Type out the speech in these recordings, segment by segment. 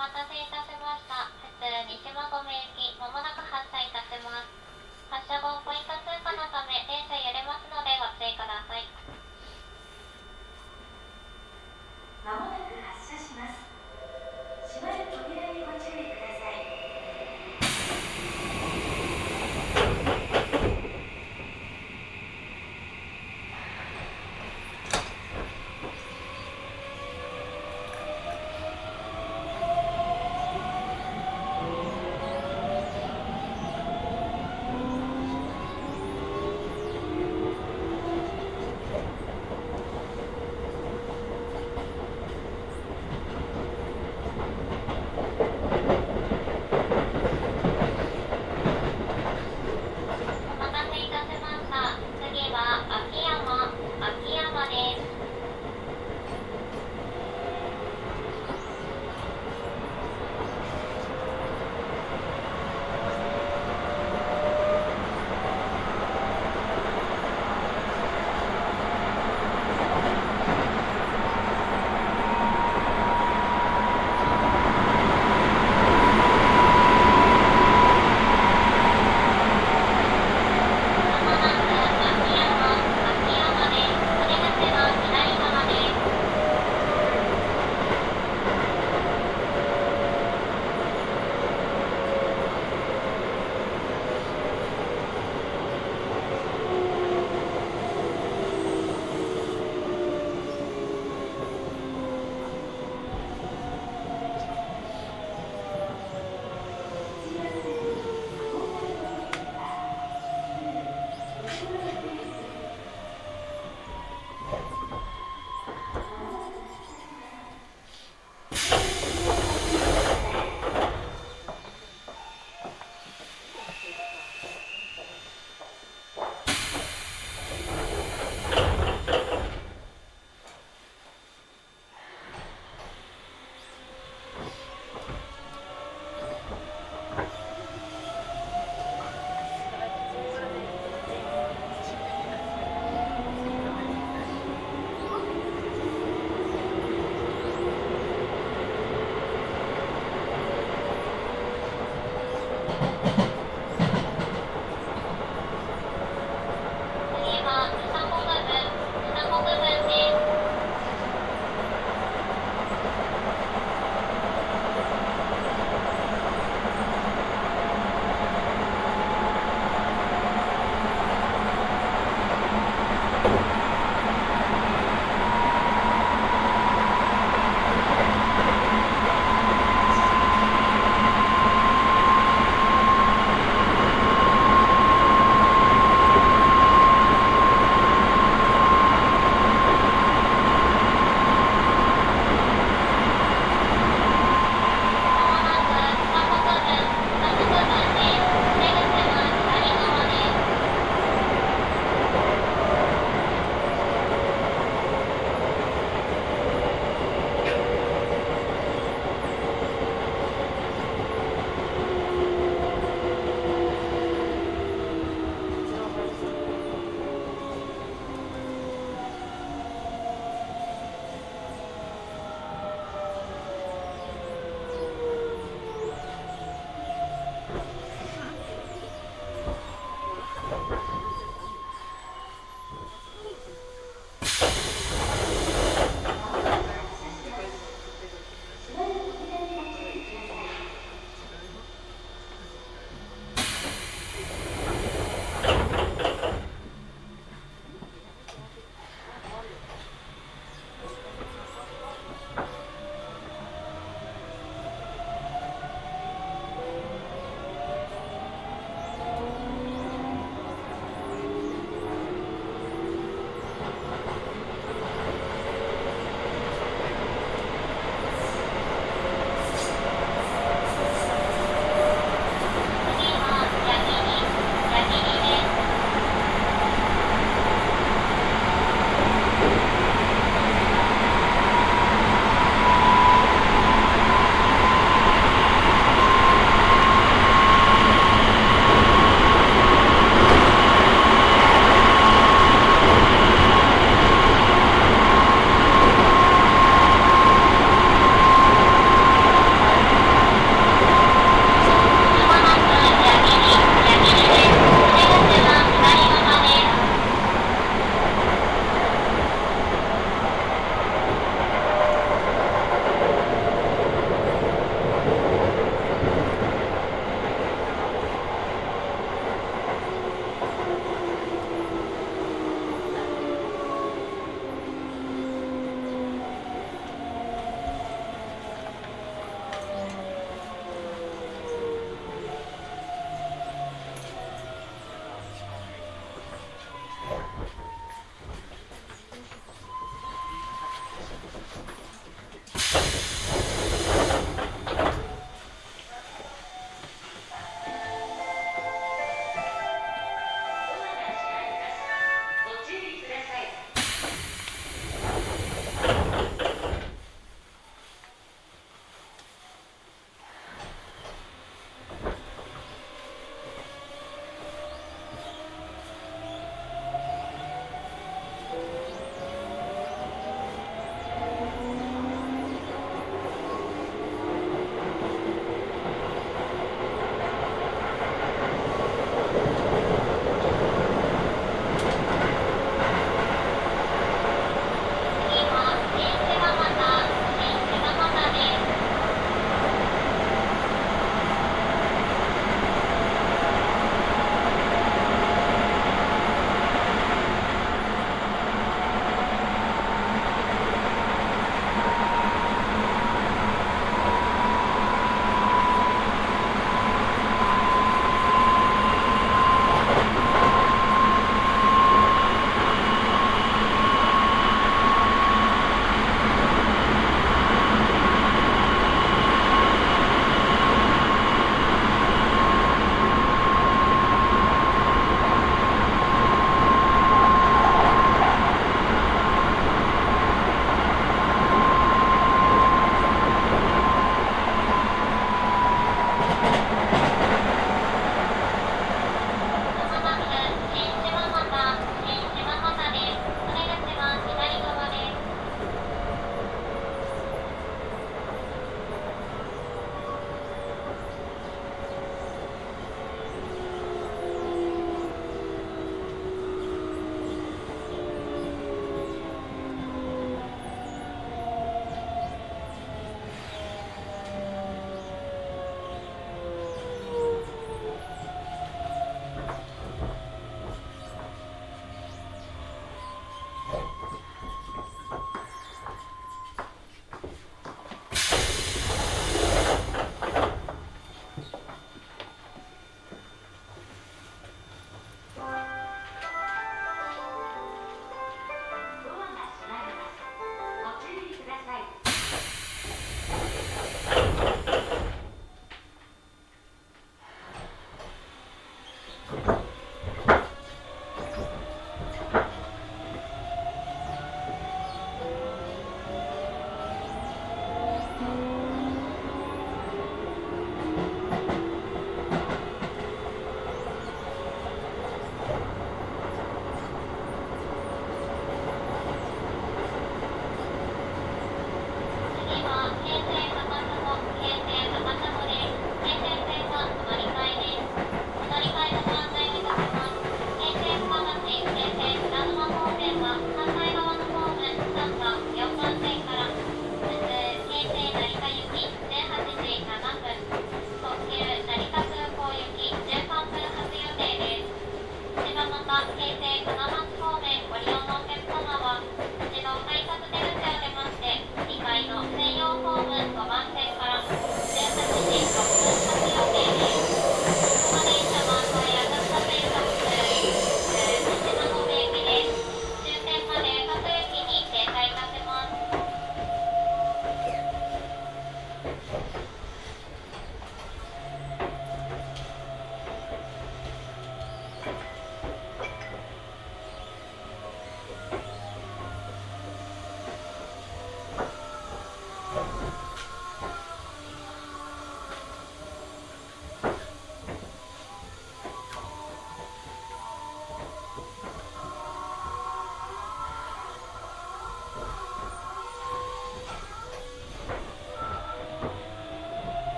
待たせいたしました。普通西馬込行き、まもなく発車いたします。発車後、ポイント通過のため、電車揺れますのでご注意ください。 まもなく発車します。閉まる扉にご注意ください。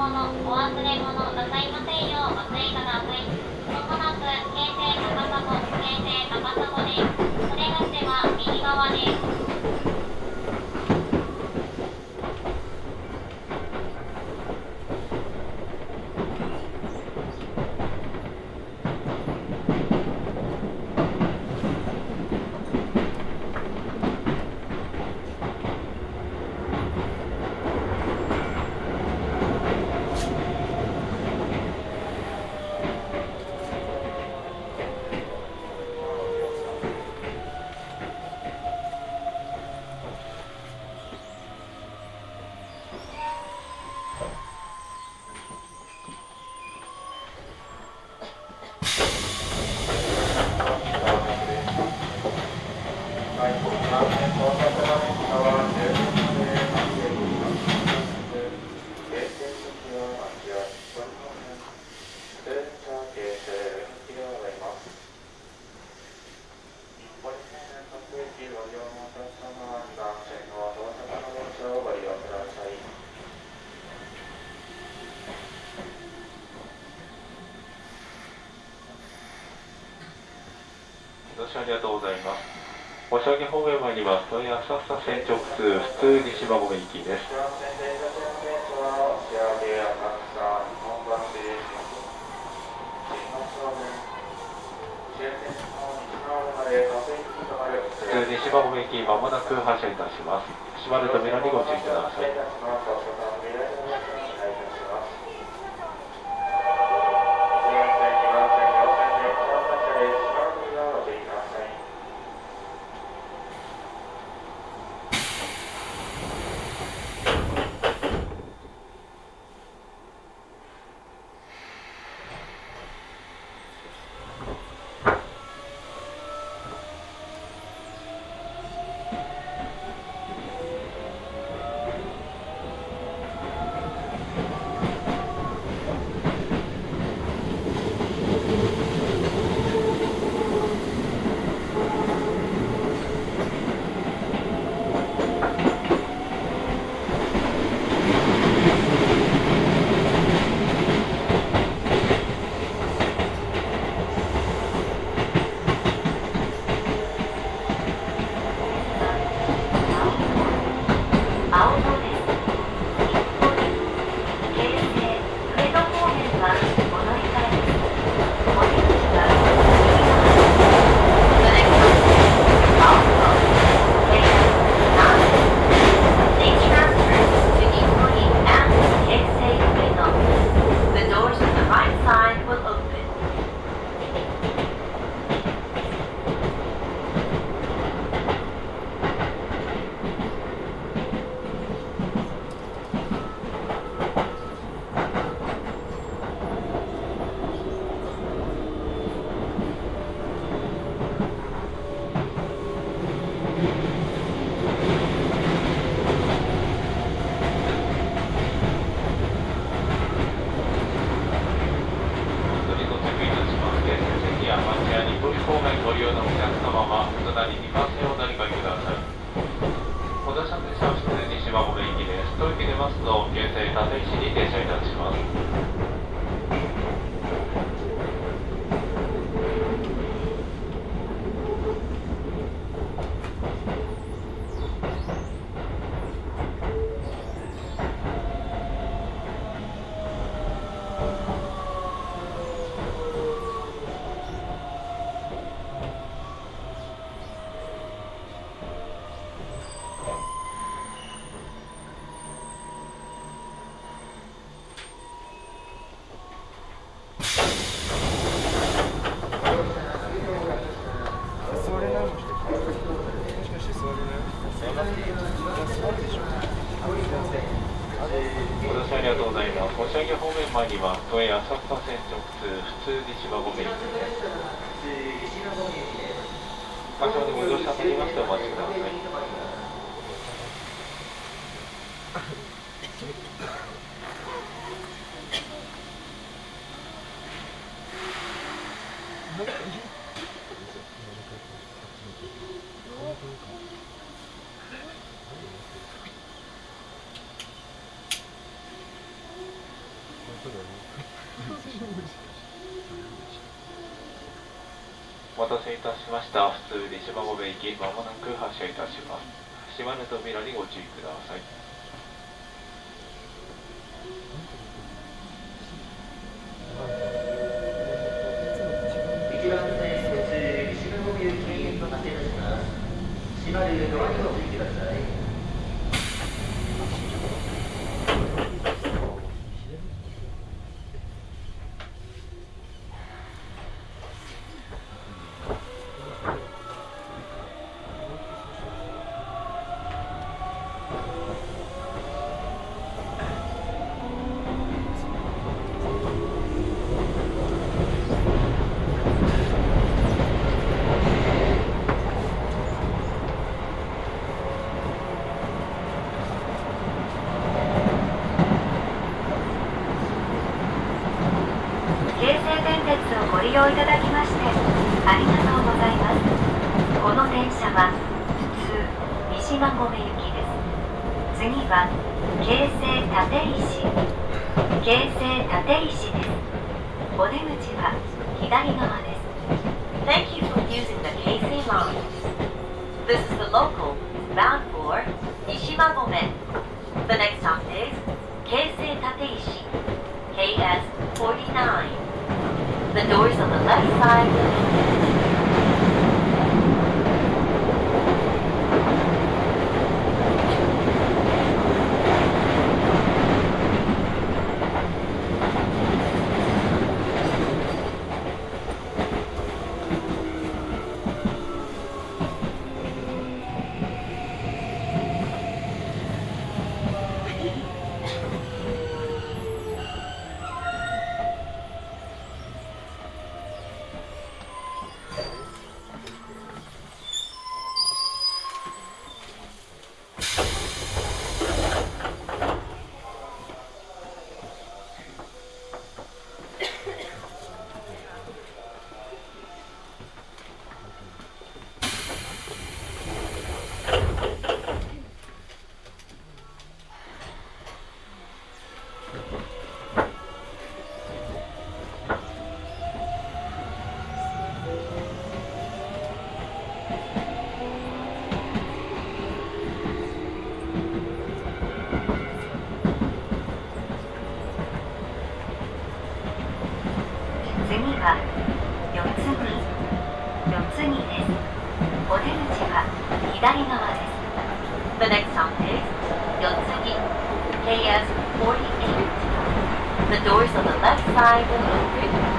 物、お忘れ物なさいませんようお注意ください。まもなく京成高砂、京成高砂です。お出口は右側です。 ありがとうございます。おしゃぎ方面参ります。問い浅草線直通普通西馬込行きです。普通西馬込行きまもなく発車いたします。閉まる扉にご注意ください。 お待たせいたしました。普通西馬込行き、まもなく発車いたします。閉まる扉にご注意ください。 1番線途中西馬込行き経由と発車いたします。閉まるドアにご注意ください。 ご利用いただきましてありがとうございます。この電車は普通西馬込行きです。次は京成立石です。お出口は左側です。 Thank you for using the Keisei line. This is the local bound for Nishimagome. The next stop is Keisei Tateishi, KS49. The doors on the left side. 次は四つ木です。お出口は左側です。 The next stop is Yotsugi, KS48. The doors on the left side will open.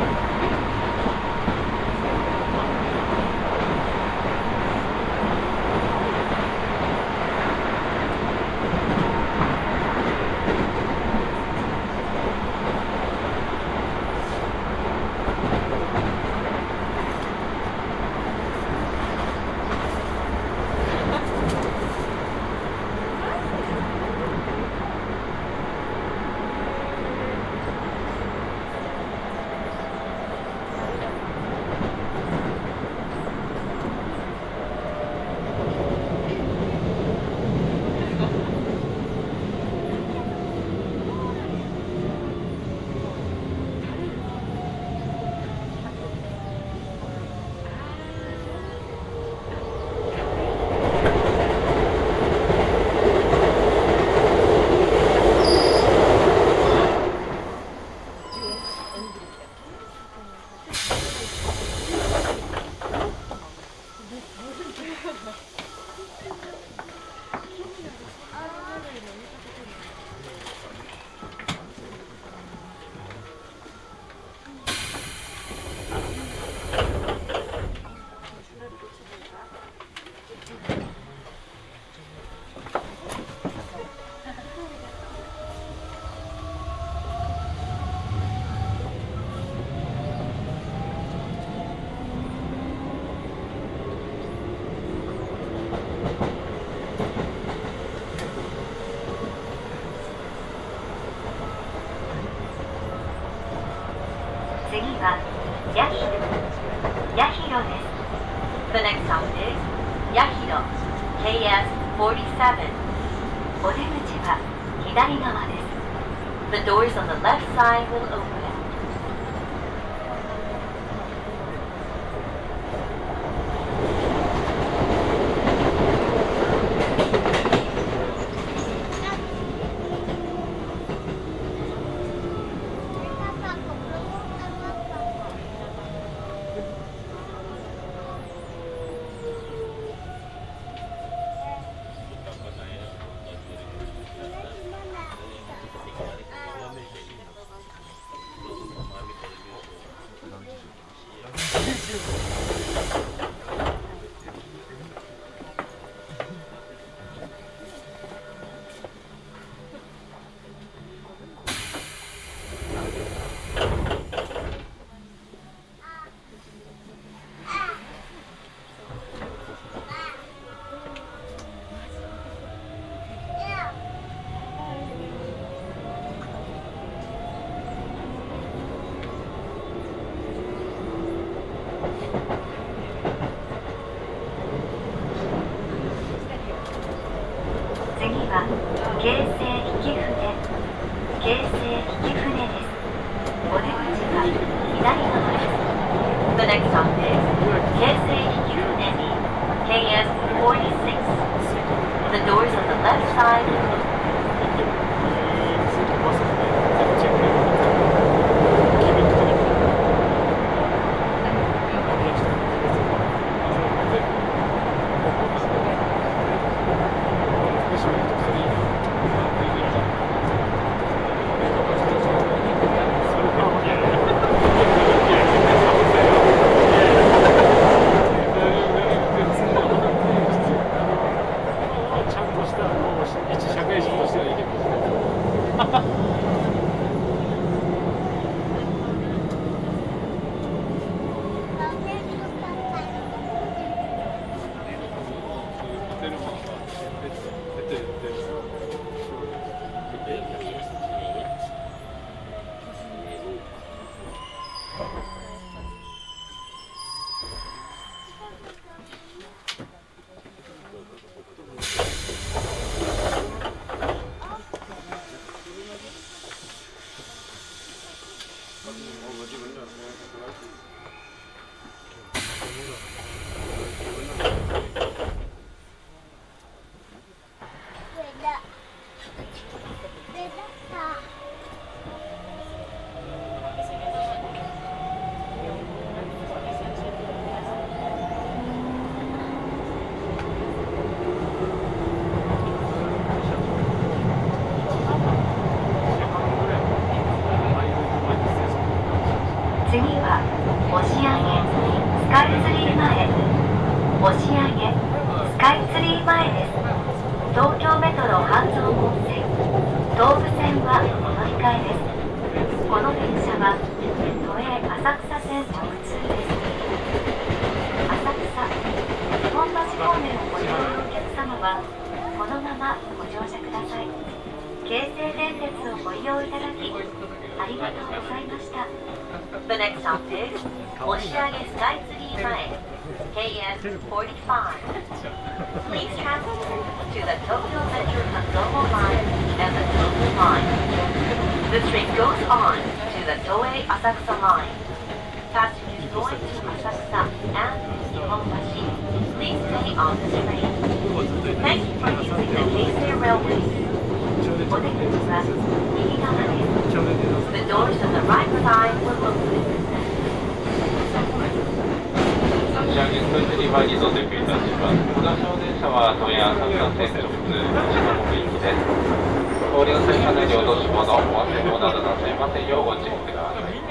The next stop is Yahiro, KS47. お出口は左側です。 The doors on the left side will open. 押上スカイツリー前です。東京メトロ半蔵門線東武線はお乗り換えです。この電車は都営浅草線直通です。浅草日本橋方面をご利用のお客様はこのままご乗車ください。京成電鉄をご利用いただきありがとうございました。 The next stop is Oshiage Skytree Mae, KS45. Please transfer to the Tokyo Metro Hanzomo Line and the Tobu Line. The train goes on to the Toei Asakusa Line. Passengers going to Asakusa and Nihonbashi, please stay on this train. Thank you for using the Keisei Railway. お出口は右側です。 The doors on the right side will open. 押上スカイツリー前に到着いたします。小田小電車は都営浅草線直通西馬込行きです。通りの線車内に落とし物、お忘れ物などなさいませんようご注意ください。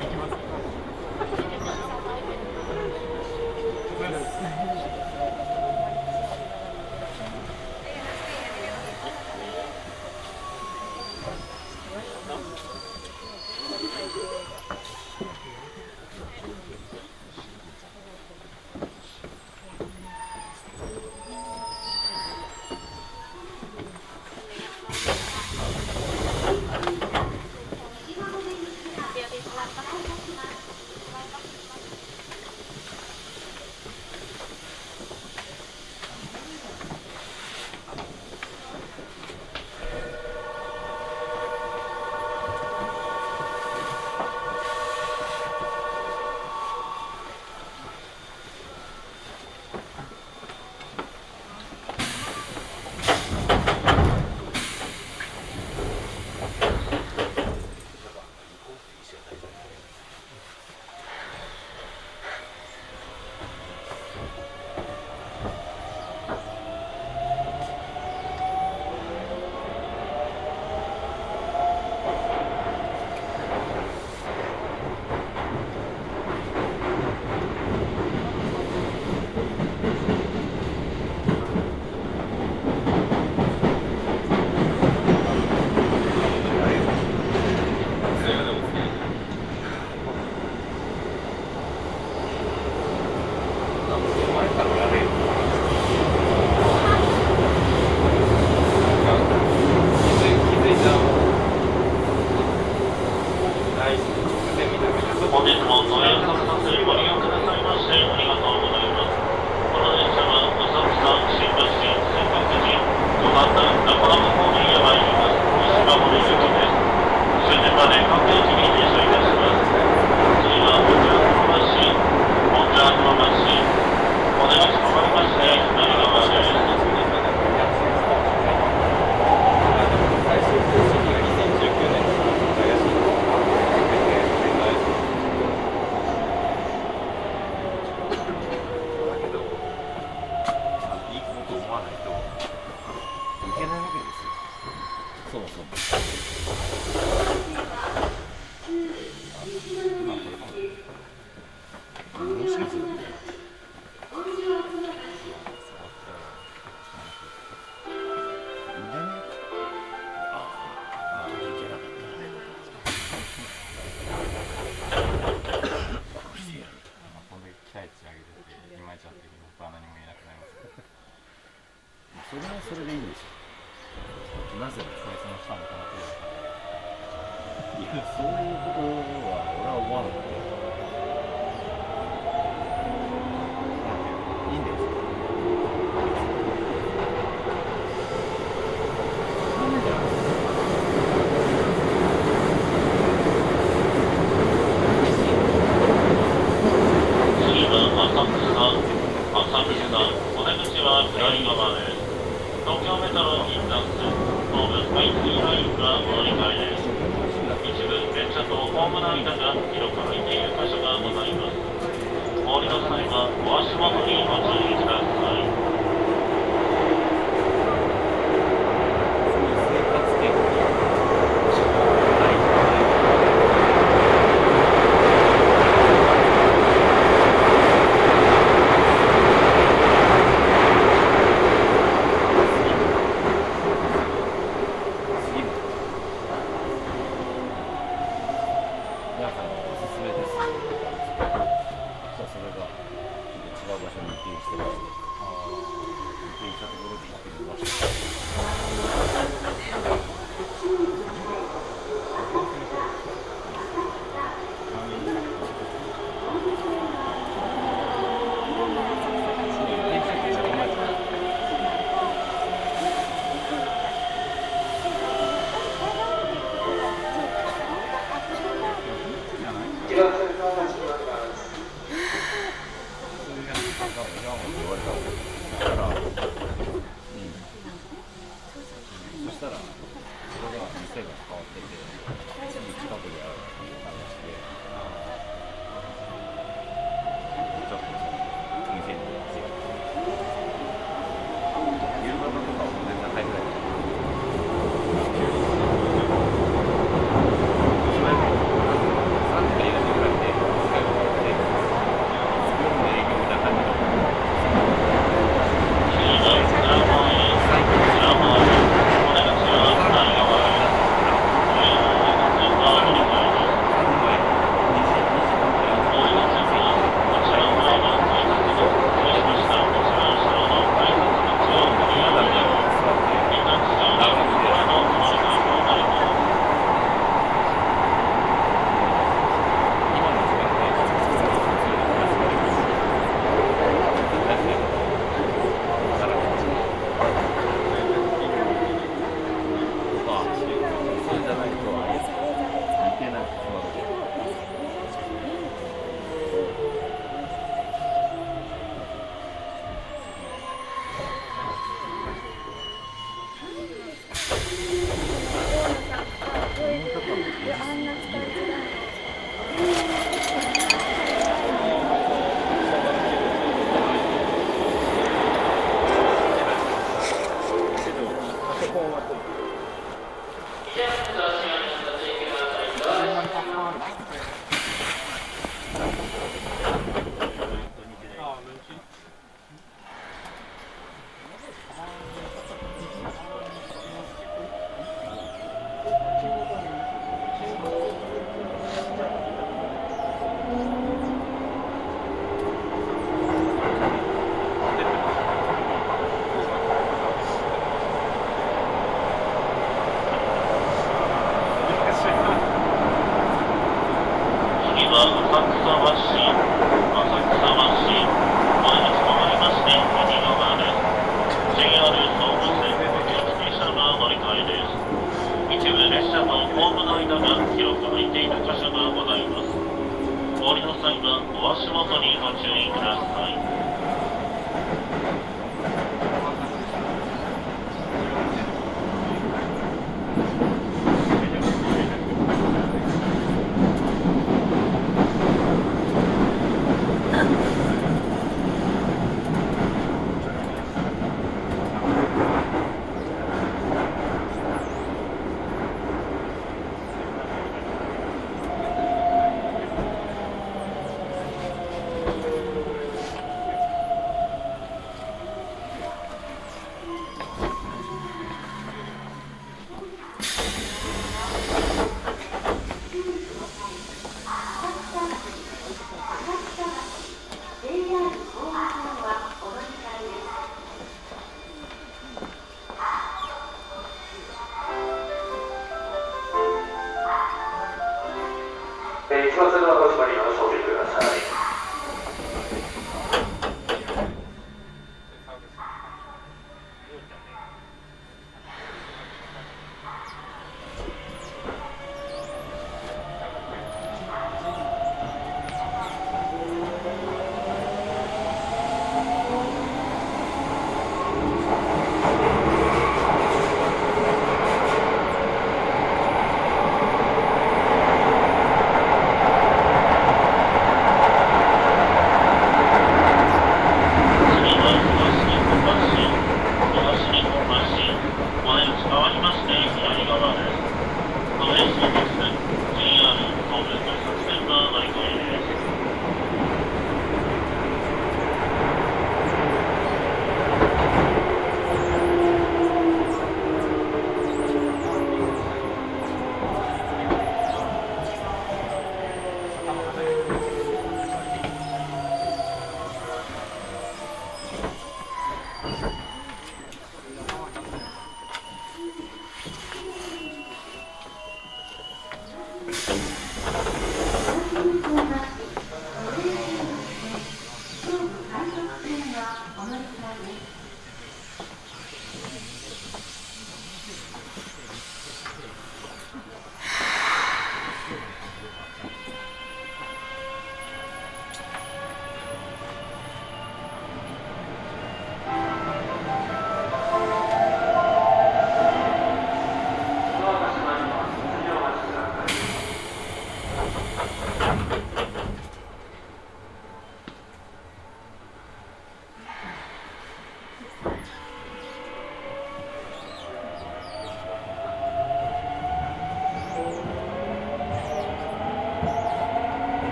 それでいいんですよ。なぜそいつのしたのかなというか。いや、そういうことは俺は思わなかった。いいんですよ。 次は浅草、お出口は左側です。東京メトロ銀座線、東武スカイツリーラインがお乗り換えです。一部電車とホームの間が広く空いている箇所がしてます。電車ところで行ってる場所。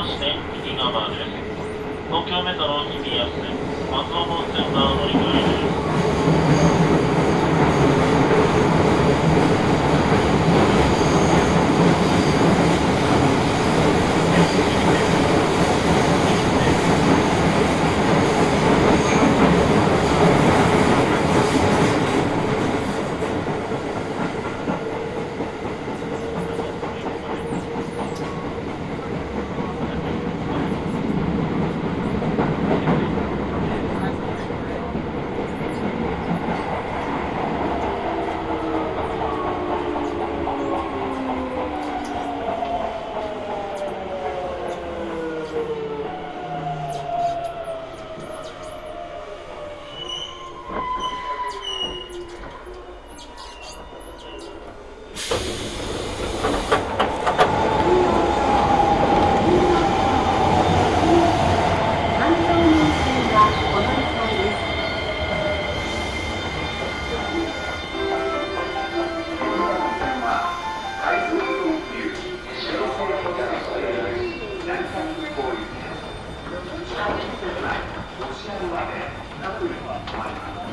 して右側です。東京メトロ日比谷線、半蔵門線が乗り換えです。 ロシア語でナポリは終わります。